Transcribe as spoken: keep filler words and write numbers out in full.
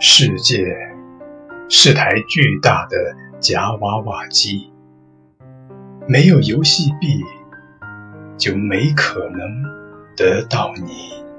世界是台巨大的夹娃娃机，没有游戏币就没可能得到你。